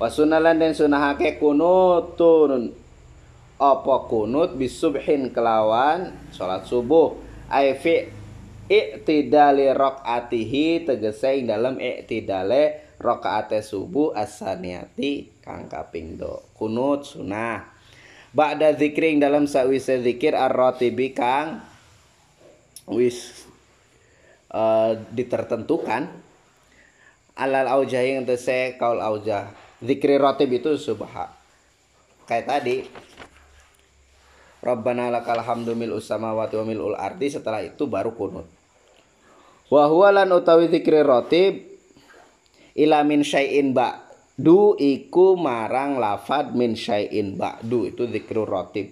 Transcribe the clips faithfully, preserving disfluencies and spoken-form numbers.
Wasunalan dan sunahake kunutun apa kunut bisubhin kelawan salat subuh ai fi i'tidali rakaatihi tegese ing dalem i'tidale rakaate subuh as-saniyati kang kaping do. Kunut sunah ba'da zikri ing dalem sawise zikir ar-ratibi kang wis uh, ditertentukan alal aujahi yang tese kaul aujah. Zikri ratib itu subha kayak tadi Rabbana lakal hamdu mil'us samawati wa mil'ul ardi, setelah itu baru kunut. Wa huwa lan utawi zikri ratib ila min syai'in ba'du iku marang lafad min syai'in ba'du, itu zikru ratib.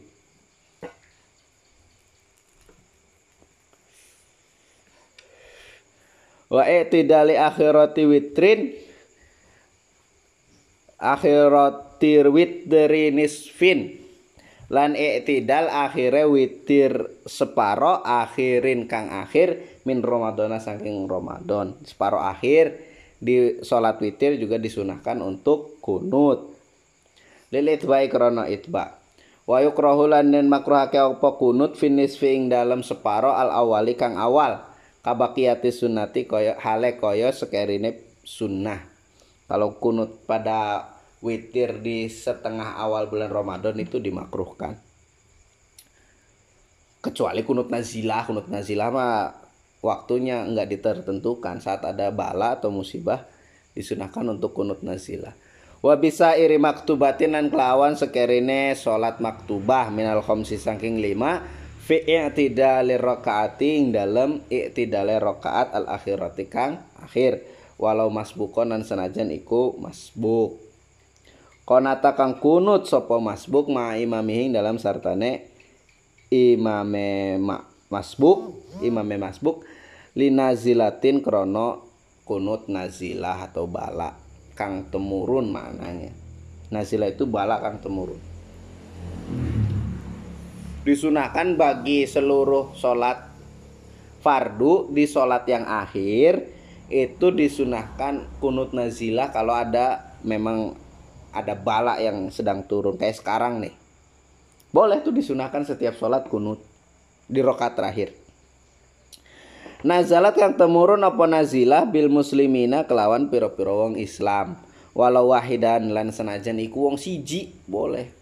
Wa i'tidali akhirati witrin akhiratir witri nisfin lan i'tidal akhire witir separo akhirin kang akhir min Ramadana saking Ramadan. Separo akhir di salat witir juga disunahkan untuk kunut. Lil itba'i krana itba. Wa yukrahu lan makruhake apa kunut finisfi ing dalem separo al awali kang awal. Kabaqiyati sunnati kaya hale kaya sekerine sunnah. Kalau kunut pada witir di setengah awal bulan Ramadan itu dimakruhkan. Kecuali kunut nazilah, kunut nazilah mah waktunya enggak ditertentukan, saat ada bala atau musibah disunahkan untuk kunut nazilah. Wa bisa iri maktubatin lan kelawan sekerine salat maktubah minal khamsi saking lima fi i'tidali rakaati ing dalem i'tidale rakaat al akhirati kang akhir walau masbukon lan senajan iku masbuk. Konata kang kunut sapa masbuk ma imamihing dalam sartane imame ma, masbuk imame masbuk linazilatin krono kunut nazilah atau bala kang temurun maknanya. Nazilah itu bala kang temurun. Disunahkan bagi seluruh sholat fardu di sholat yang akhir itu disunahkan kunut nazilah kalau ada memang ada bala yang sedang turun kayak sekarang nih. Boleh tuh disunahkan setiap sholat kunut di rakaat terakhir. Nazalat yang temurun apa nazilah bil muslimina kelawan piro-piro wong Islam. Walau wahidan lan senajan iku wong siji boleh.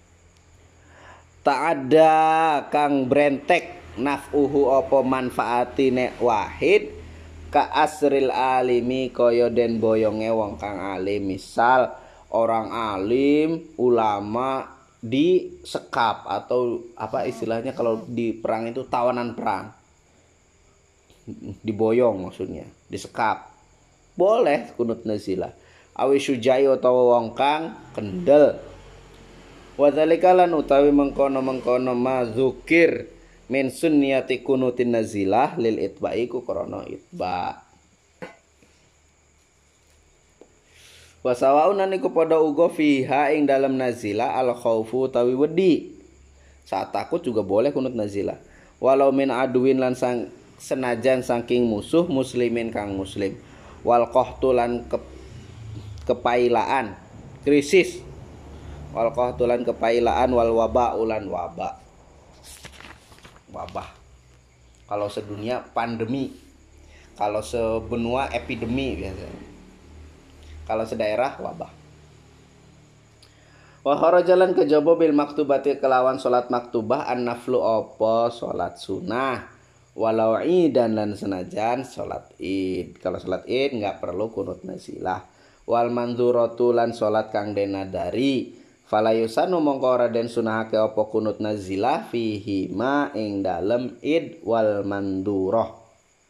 Tak ada kang brentek naf'uhu apa manfaatine wahid ka asril alimi kaya den boyonge wong kang alim. Misal orang alim, ulama disekap atau apa istilahnya kalau di perang itu tawanan perang. Diboyong maksudnya, disekap. Boleh kunut nazilah. Awi syujai utawa wong kang kendel. Wa dzalika lan utawi mengkono-mengkono mazukir min sunniyati kunutin nazilah lil itba'i ku krana itba'. Wasawaun niku padha uga fiha ing dalam nazilah al khaufu tawi wedi. Saat takut juga boleh kunut nazilah. Walau min aduin lan sang, senajan saking musuh muslimin kang muslim. Wal qahtulan ke, kepailaan krisis. Wal qahtulan kepailaan wal waba ulan waba. Wabah. Kalau sedunia pandemi. Kalau sebenua epidemi biasanya. Kalau sedaerah wabah. Wa kharajalan kejaba bil maktubati kelawan salat maktubah an-naflu apa salat sunah walau idan lan senajan salat id. Kalau salat id enggak perlu kunut nazilah. Wal mandzuratu lan salat kang denadari fala yusanu mongko ora den sunahake apa kunut nazilah fihi ma ing dalem id wal mandurah.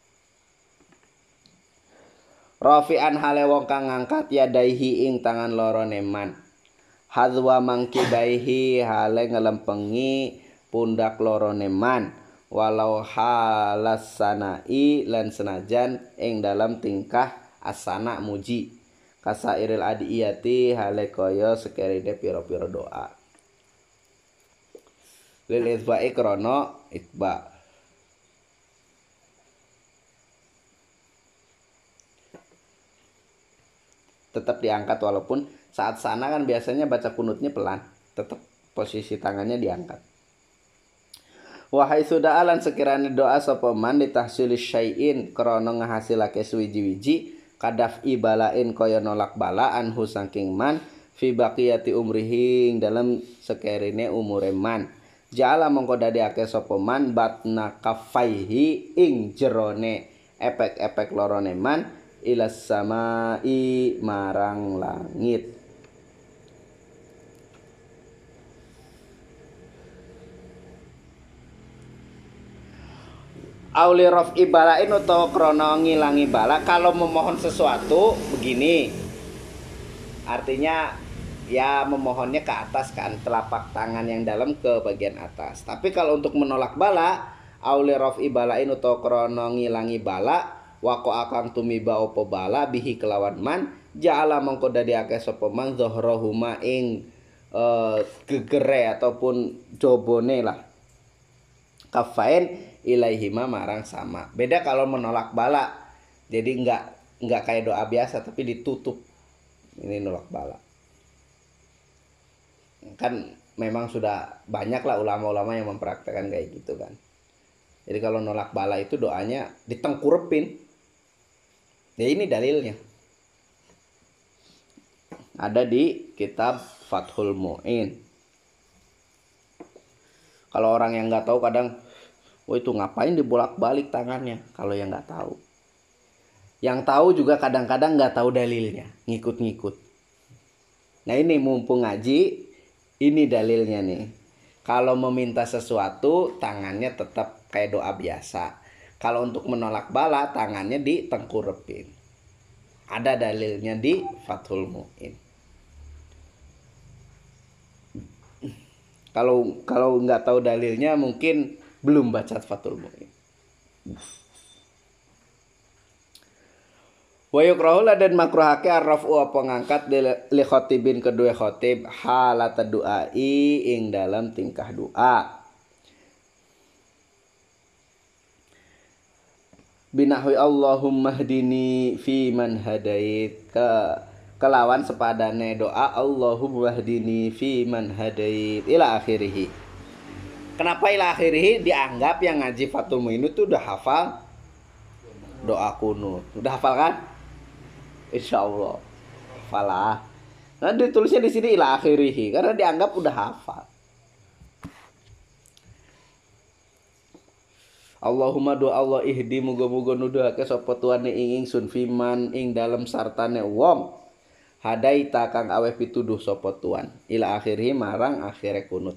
Rafi'an hale wong kang ngangkat yadaihi ing tangan loro neman. Hadwa mangkibaihi hale ngelempengi pundak loro neman. Walau halas sanai lan senajan ing dalam tingkah asana muji. Kasairil adiyati hale kaya sekerine pira-pira doa. Lil itba'i krana itba'. tetap diangkat, walaupun saat sana kan biasanya baca kunutnya pelan, tetap posisi tangannya diangkat. Wahai sudah alan sekiranya doa sapa man ditahsili syai'in krana ngahasilake suwiji-wiji kadaf ibalain kaya nolak balaan hu saking man fi baqiyati umrihi dalam sekerine umure man. Jala mongko dadiake sapa man batna kafaihi ing jerone epek-epek lorone man ilas samai marang langit. Auli raf'i balain atau krono ngilangi bala. Kalau memohon sesuatu begini, artinya ya memohonnya ke atas kan, telapak tangan yang dalam ke bagian atas. Tapi kalau untuk menolak bala, auli raf'i balain atau krono ngilangi bala, wako akang tumiba opo bala bihi kelawan man, ja'ala mongko dadiake sapa man zohrohuma ing uh, gegere ataupun jobone lah. Kafain ilaihima marang sama. Beda kalau menolak bala. Jadi enggak enggak kayak doa biasa tapi ditutup. Ini nolak bala. Kan memang sudah banyak lah ulama-ulama yang mempraktekkan kayak gitu kan. Jadi kalau nolak bala itu doanya ditengkurepin. Ya ini dalilnya. Ada di kitab Fathul Mu'in. Kalau orang yang nggak tahu kadang, oh itu ngapain dibolak-balik tangannya? Kalau yang nggak tahu, yang tahu juga kadang-kadang nggak tahu dalilnya, ngikut-ngikut. Nah ini mumpung ngaji, ini dalilnya nih. Kalau meminta sesuatu, tangannya tetap kayak doa biasa. Kalau untuk menolak bala, tangannya ditengkurepin. Ada dalilnya di Fathul Mu'in. Kalau kalau nggak tahu dalilnya mungkin belum baca Fathul Mu'in. Wa yukrahu dan makruhake arrafu apa ngangkat li khotibin kedua khotib halat du'ai ing dalam tingkah doa. Binahwi Allahumma hdini fi man hadait ke kelawan sepadane doa Allahumma hdini fi man hadait ila akhirih. Kenapa ila akhirih? Dianggap yang ngaji Fathul Mu'in itu udah hafal doa kunut. Udah hafal kan? Insyaallah. Hafalah. Nah ditulisnya di sini ila akhirih karena dianggap udah hafal. Allahumma doa Allah ihdi muga-muga nuduhake sapa tuane ing ingsun fiman ing dalem sartane wong hadaita kang aweh pituduh sapa tuan ila akhirih marang akhire kunut.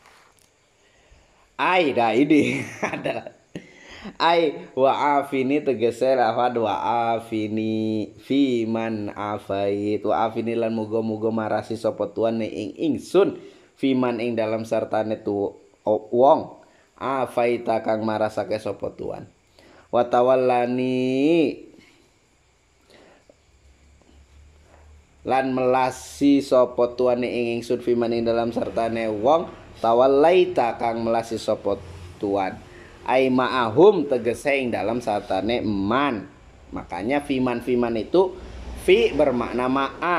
Ai dah ini ada ai wa afini tegese lafad wa afini fi man afait wa afini lan muga-muga marasi sapa tuan ing ingsun fi man ing dalam sartane tu wong afaita kang marasake sapa tuan wa tawallani lan melasi sapa tuane ing ingsun fiman ing dalam sartane wong tawallaita kang melasi sapa tuan ai ma'ahum tegese ing dalam sartane man. Makanya fiman fiman itu fi bermakna ma'a.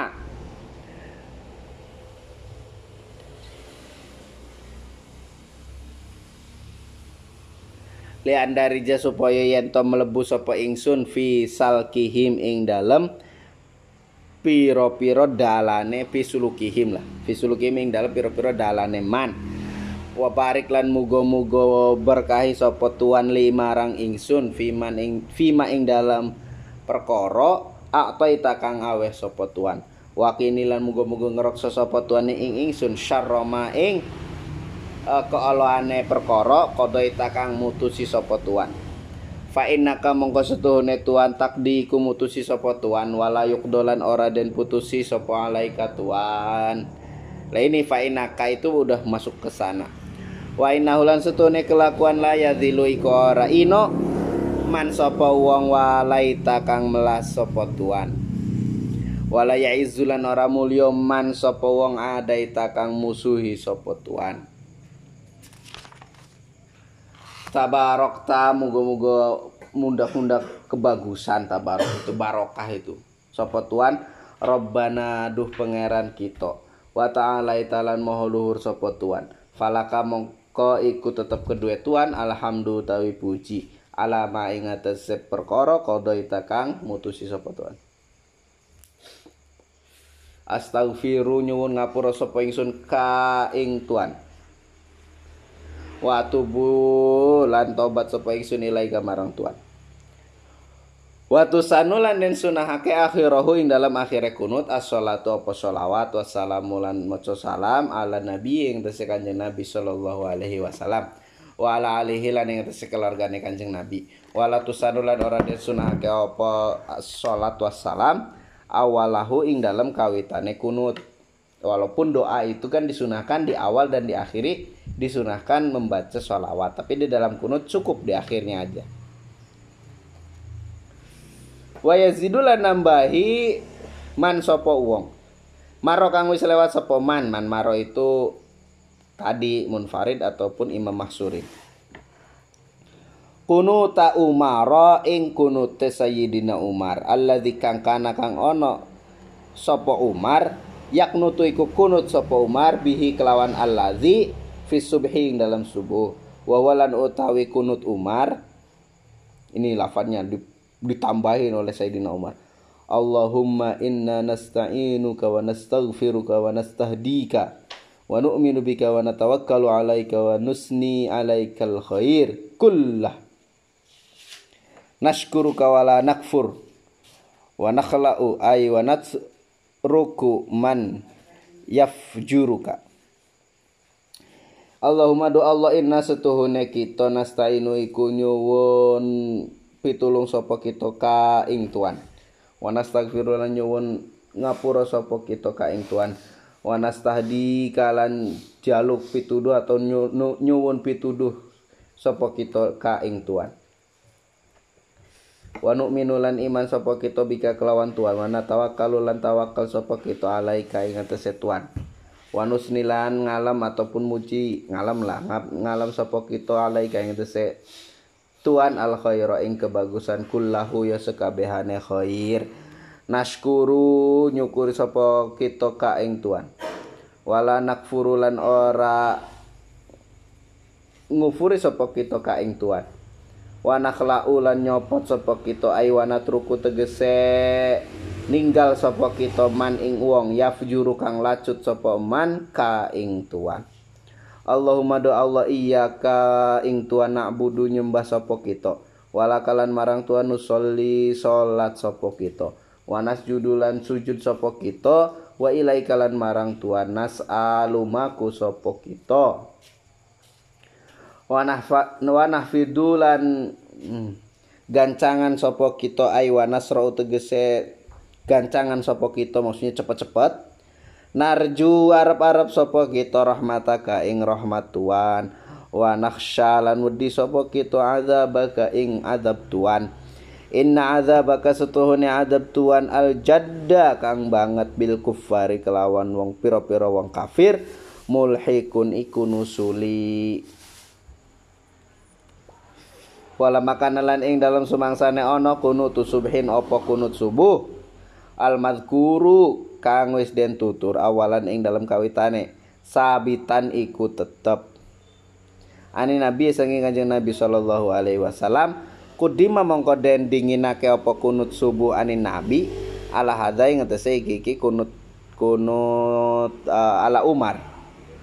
Lian darija supaya yen to mlebu sapa ingsun fi salkihim ing dalem piro-piro dalane pisulukihim lah. Pisulukihim ing dalem piro-piro dalane man. Wa barik lan muga-muga berkahi sapa tuan limarang ingsun fiman ing fima ing dalam perkara ataita kang aweh sapa tuan. Wa kini lan muga-muga ngreksa sapa tuan ing ingsun syarrama ing uh, keoloane perkara qadaita kang mutusi sapa tuan. Fa innaka mongko setuhune tuan takdi ku mutusi sapa tuan wala yuqdolan ora den putusi sapa alaika tuan. Lah ini fa innaka itu udah masuk ke sana. Wa innahu lan setuhune kelakuan la yadzilu iku ora ino man sapa wong walaita kang melas sapa tuan. Wala ya'izzulan ora mulya man sapa wong adaita kang musuhi sapa tuan. Tabarokta muga-muga mundak-mundak kebagusan tabarok itu barokah itu. Sapa tuan Rabbana duh pangeran kita wa ta'ala talan maha luhur sapa tuan falaka mongko iku tetep kedue tuan alhamdu tawi puji ala ma ing atase perkara qadaita kang mutusi sapa tuan. Astaghfiru nyuwun ngapura sapa ingsun ka ing tuan wa tubu lan tobat sapa ingsun ilaika marang tuan. Wa tusanulan den sunahake akhirahu ing dalam akhire kunut as-shalatu apa sholawat wassalamu lan maca salam ala nabi ing tese Kanjeng Nabi sallallahu alaihi wasallam wa ala alihi lan ing tese keluargane Kanjeng Nabi. Wala tusanulan ora den sunahake apa salat wassalam awalahu ing dalam kawitane kunut. Walaupun doa itu kan disunahkan di awal dan di akhiri disunahkan membaca sholawat, tapi di dalam kunut cukup di akhirnya aja. Wa yazidulan nambahi man sapa wong maro kang wis lewat sapa man man maro itu tadi munfarid ataupun imam mahsuri. Kunuta Umar ing kunute Sayyidina Umar alladzi kang kana kang ono sapa Umar yaknutu iku kunut sapa Umar bihi kelawan alladzi fi subhi ing dalam subuh wa walan utawi kunut Umar ini lafadznya ditambahin oleh Sayyidina Umar Allahumma inna nasta'inuka wa nastaghfiruka wa nastahdika wa nu'minu bika wa natawakkalu alaika wa nusni alaikal khair kullah nashkuruka wala nakfur wa nakhla'u ay wa natruku man yafjuruka. Allahumma do Allah inna setuhune kita nastainu iku nyuwun pitulung sapa kita ka ing tuan wa nastaghfiru lan nyuwun ngapura sapa kita ka ing tuan wa nastahdi kalan jaluk pituduh atau nyuwun pituduh sapa kita ka ing tuan. Wa nu'minu lan iman sapa kita bika kelawan tuan wa natawakkalu lan tawakal sapa kita alaika ing atase tuan wa nusnilan ngalam ataupun muji ngalam lah ngalam sapa kita alaika ing atase tuan al khaira ing kebagusan kullahu ya sekabehane khair nashkuru nyukuri sapa kita ka ing tuan wala nakfuru lan ora ngufuri sapa kita ka ing tuan wa nakhla'u lan nyopot sapa kita ay wa natruku tegese ninggal sapa kita man ing wong yafjuru kang lacut sapa man ka ing tuan. Allahumma do Allah iyyaka ing tuan na'budu nyembah sapa kita walakalan marang tuan nusolli salat sapa kita wa nasjudu lan sujud sapa kita wa ilaika lan marang tuan nas'alumaku sapa kita wa nahfidulan hmm, gancangan sapa kita ay wa nasra tegese gancangan sapa kita maksudnya cepet-cepet narju arep-arep sapa kita rahmataka ing rahmat Tuhan wa nakhsha lan wedi sapa kita azabaka ing azab Tuhan inna azabaka setuhune azab Tuhan al jadda kang banget bil kuffari kelawan wong pira-pira wong kafir mulhikun iku nusuli. Wala makanalan ing dalam sumangsane ana kunut subhin apa kunut subuh al mazkuru kang wis den tutur awalan ing dalam kawitane sabitan iku tetep ani nabi saking Kanjeng Nabi sallallahu alaihi wasallam kudima mongko den dinginake apa kunut subuh ani nabi ala hadza ing ngetese iki kunut kunut uh, ala Umar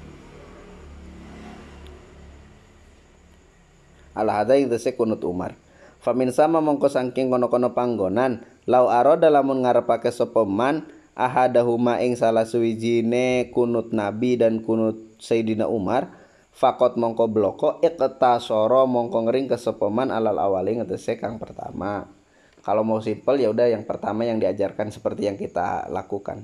ala hadza ing tese kunut Umar famin sama mongko saking kono-kono panggonan lau arada lamun ngarepake sapa man ahadahuma ing salah suwijine kunut Nabi dan kunut Sayyidina Umar fakot mongko bloko iqtasara mongko ngering kesepaman alal awali ngetese kang pertama. Kalau mau simpel ya udah yang pertama yang diajarkan seperti yang kita lakukan.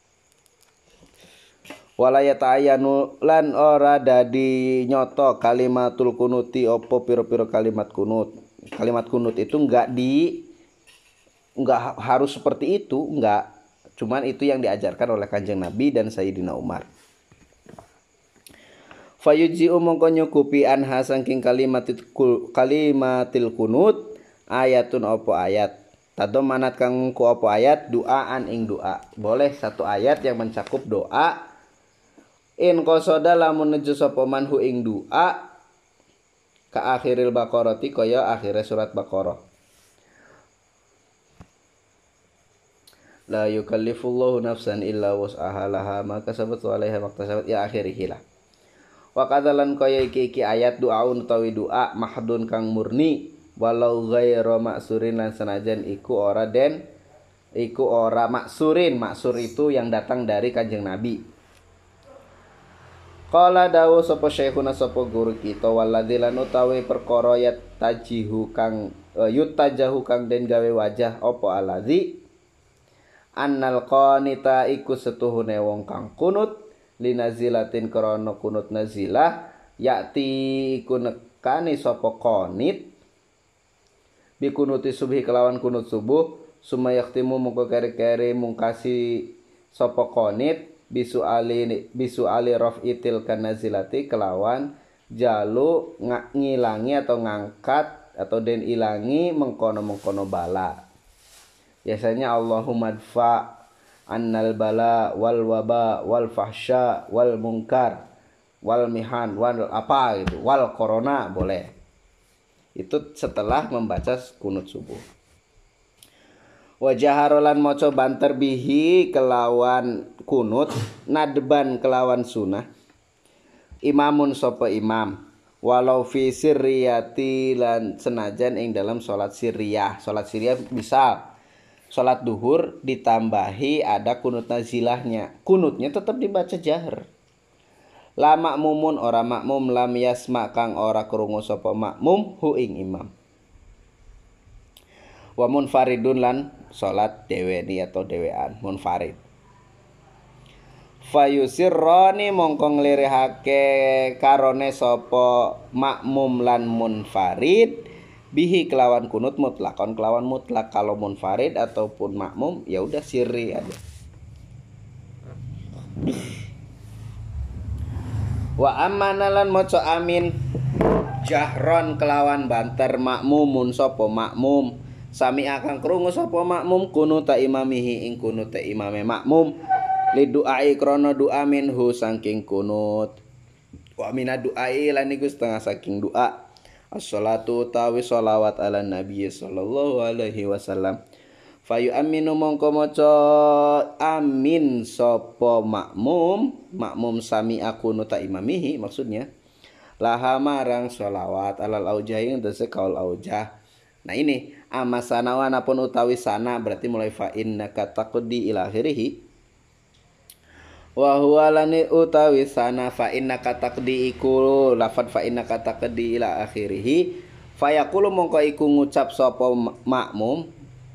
Walayata ayanu lan ora dadi nyoto kalimatul kunuti opo piro-piro kalimat kunut. Kalimat kunut itu enggak di enggak harus seperti itu, enggak. Cuman itu yang diajarkan oleh Kanjeng Nabi dan Sayyidina Umar. Fayuji mongko nyukupi anha saking kalimatil kalimatil kunut ayatun opo ayat tadomanat kang ku apa ayat duaan ing doa. Boleh satu ayat yang mencakup doa. In qasada lamun nuju sapa manhu ing doa ka akhiril Baqarah kaya akhire surat Baqarah. La yukallifullahu nafsan illa wus'aha laha ma kasabat wa 'alaiha maktasabat ya akhirih lah. Wa kadzalan kaya iki iki ayat doaun utawi doa mahdun kang murni walau ghairu maksurin lan senajan iku ora den iku ora maksurin. Maksur itu yang datang dari Kanjeng Nabi. Qala dawu sapa syekhuna sapa guru kita waladzi lan utawi perkara yat tajihu kang uh, yutajahu kang den gawe wajah apa aladzi annal qanita iku setuhune wong kang kunut linazilatin krana kunut nazilah yakti iku nekani sapa qanit bi kunuti subhi kelawan kunut subuh sumayaktimu mongko kere-kere mungkasi sapa qanit bisu ali bisu ali rafitil kanazilati kelawan jalu ngilangi atau ngangkat atau den ilangi mengkono-mengkono bala. Biasanya Allahumma dfa annal bala wal waba wal fahsya wal munkar wal mihan wal apa gitu wal corona boleh. Itu setelah membaca kunut subuh. Wa jaharolan maca banter bihi kelawan kunut nadban kelawan sunah imamun sapa imam walau fi sirriyati lan senajan ing dalam salat sirriyah. Salat sirriyah misal salat duhur ditambahi ada kunut nazilahnya, kunutnya tetap dibaca jahar. La makmumun ora makmum lam yasma kang ora krungu sapa makmum hu ing imam. Wa munfaridun lan salat deweni atau dewean munfarid. Fayusirrani mongko nglirihake karone sapa makmum lan munfarid bihi kelawan kunut mutlakon kelawan mutlak. Kalau munfarid ataupun makmum ya udah sirri aja. Wa amanalan maca amin jahron kelawan banter makmumun sapa makmum sami akan krungu sapa makmum kunuta imamihi ing kunuta imame makmum li du'ai krana du'a minhu saking kunut. Wa mina du'ai lan iku setengah saking doa. As-salatu tawi sholawat ala nabi sallallahu alaihi wasallam. Fayu aminu mongko maca amin sapa makmum makmum sami akunuta imamihi maksudnya laha marang sholawat alal aujahi ndase kaul aujah. Nah ini amasana wa napun utawi sana berarti mulai fa innaka taqdi ila akhirih. Wa huwa lani utawi sana fa innaka taqdi iku lafad fa innaka taqdi ila akhirih fayaqulu mongko iku ngucap sapa makmum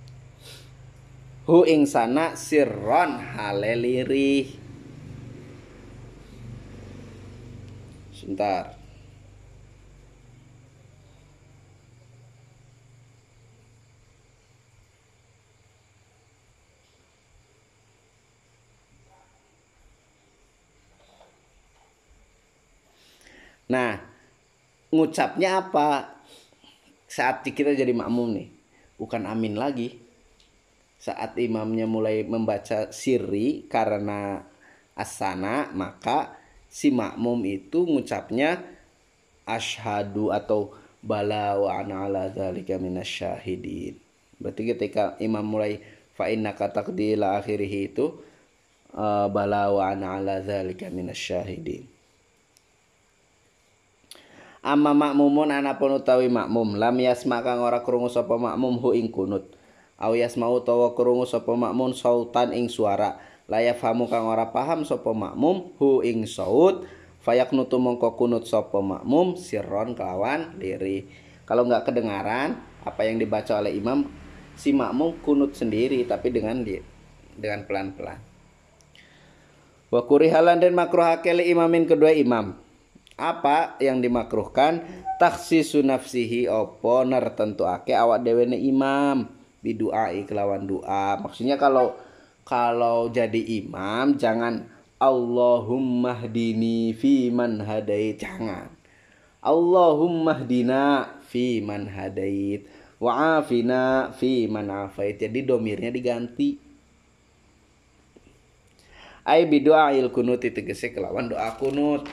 hu ing sana sirron halelirih. Sebentar. Nah, ngucapnya apa? Saat kita jadi makmum nih, bukan amin lagi. Saat imamnya mulai membaca sirri karena asana, maka si makmum itu ngucapnya asyhadu atau bala wa ana ala dzalika minasyahidin. Berarti ketika imam mulai fa innaka taqdi ila akhirih itu uh, bala wa ana ala dzalika minasyahidin. Amma makmumun anapun utawi makmum lam yasma kang ora krungu sapa makmum hu ing kunut aw yasma utawa krungu sapa makmum sautan ing suara la yafhamu kang ora paham sapa makmum hu ing saut fayaqnutu mongko kunut sapa makmum sirron kelawan lirih. Kalau enggak kedengaran apa yang dibaca oleh imam, si makmum kunut sendiri tapi dengan dengan pelan-pelan. Wa kurihalan dan makruhake li imamin kedua imam. Apa yang dimakruhkan takhsisu nafsihi opo nertentuake awak dhewe ne imam biduai kelawan doa. Maksudnya kalau kalau jadi imam jangan Allahumma hdini fi man hadait, jangan Allahumma hdina fi man hadait. wa afina fi man afait. Jadi domirnya diganti. Ai bidu'ail kunut tegese kelawan doa kunut.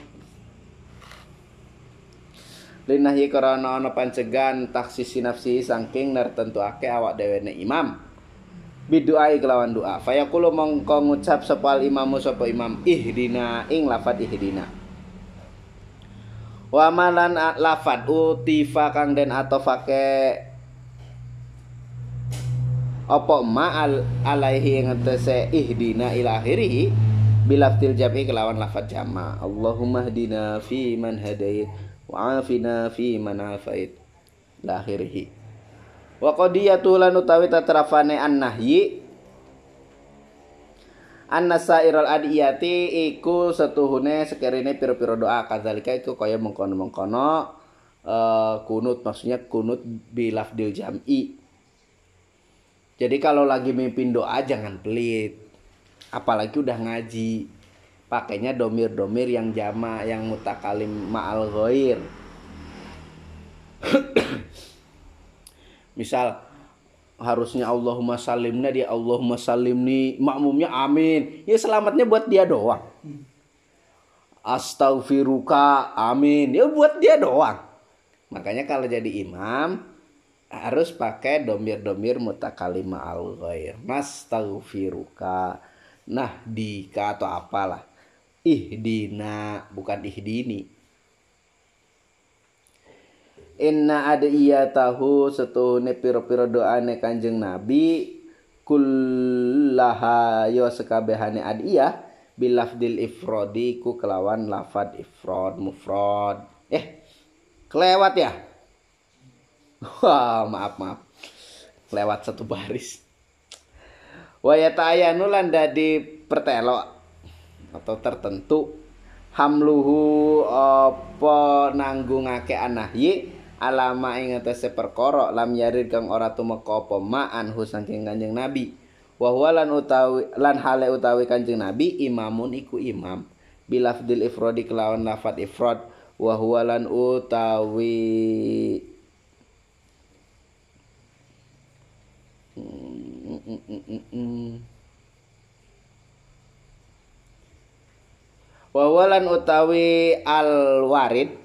Linahyi karana ana pancegan taksisi nafsi saking nartentuake awak dhewe ne imam. Bidu'ai kelawan doa. Fayaqulu mongko ngucap sapa imamu sapa imam ihdina ing lafat ihdina. Wa malan lafat utifa kang den atofake apa ma al alaihi ngetese ihdina ila akhirih bilaftil jam'i kelawan lafat jama. Allahumma hdina fi man hadait wa afina fi man afait la akhirih. Wa qadiyatu lan utawi tatrafane an-nahyi annasairul adiyati iku setuhune sekerine pira-pira doa kadzalika iku kaya mengkono-mengkono uh, kunut, maksudnya kunut bilafdil jam'i. Jadi kalau lagi mimpin doa jangan pelit, apalagi udah ngaji, pakainya domir-domir yang jama, yang mutakalim ma'al ghair. Misal harusnya Allahumma salimna, dia Allahumma salimni, makmumnya amin, ya selamatnya buat dia doang. Astaghfiruka, amin, ya buat dia doang. Makanya kalau jadi imam harus pakai domir-domir mutakalim ma'al ghair. Nastaghfiruka, nahdika atau apalah, ihdina bukan ihdini. Inna adiyatahu setuhune pira-pira doane Kanjeng Nabi kullaha yo sekabehane adiyah bilafdil ifrodi ku kelawan lafad ifrod mufrad. Eh kelewat ya. Wah, maaf maaf. Kelewat satu baris. Wa yata'ayanu lan dadi pertelok atau tertentu hamluhu apa nanggungake anahyi alama ing atase perkara lam yarid kang ora tumeka apa ma'an hu saking Kanjeng Nabi. Wa huwa lan utawi lan hale utawi Kanjeng Nabi imamun iku imam bilafdil ifradi kelawan lafat ifrad. Wa huwa lan utawi mm, mm, mm, mm, mm. Wa huwa lan utawi al warid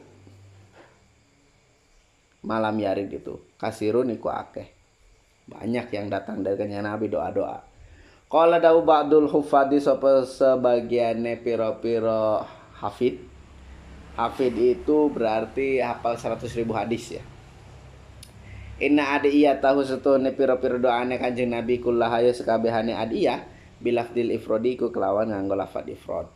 malam yarid itu kasirun iku akeh, banyak yang datang dari Kanjeng Nabi doa-doa. Qala dawu ba'dul hufadi sapa sebagiane pira-pira hafid. Hafid itu berarti hafal seratus ribu hadis ya. Inna adiyatahu setune pira-pira doane Kanjeng Nabi kullaha sekabehane adiyah bilafdil ifrodi ku kelawan nganggo lafaz ifrad.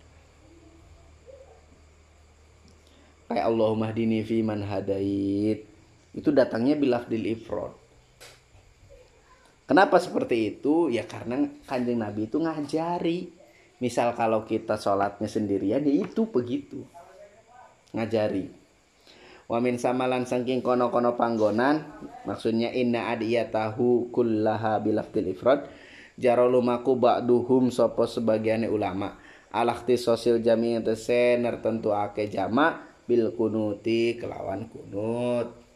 Kayak Allahumma hdini fi man hadait. Itu datangnya bilafdil ifrad. Kenapa seperti itu? Ya karena Kanjeng Nabi itu ngajari. Misal kalau kita sholatnya sendirian, ya itu begitu. Ngajari. Wa min samalan saking kono-kono panggonan, maksudnya inna adiyatahu kullaha bilafdil ifrad. Jarolumaku ba'duhum sopo sebagiannya ulama. Alakti sosil jami yang tese nertentuake jama bil kunuti kelawan kunut.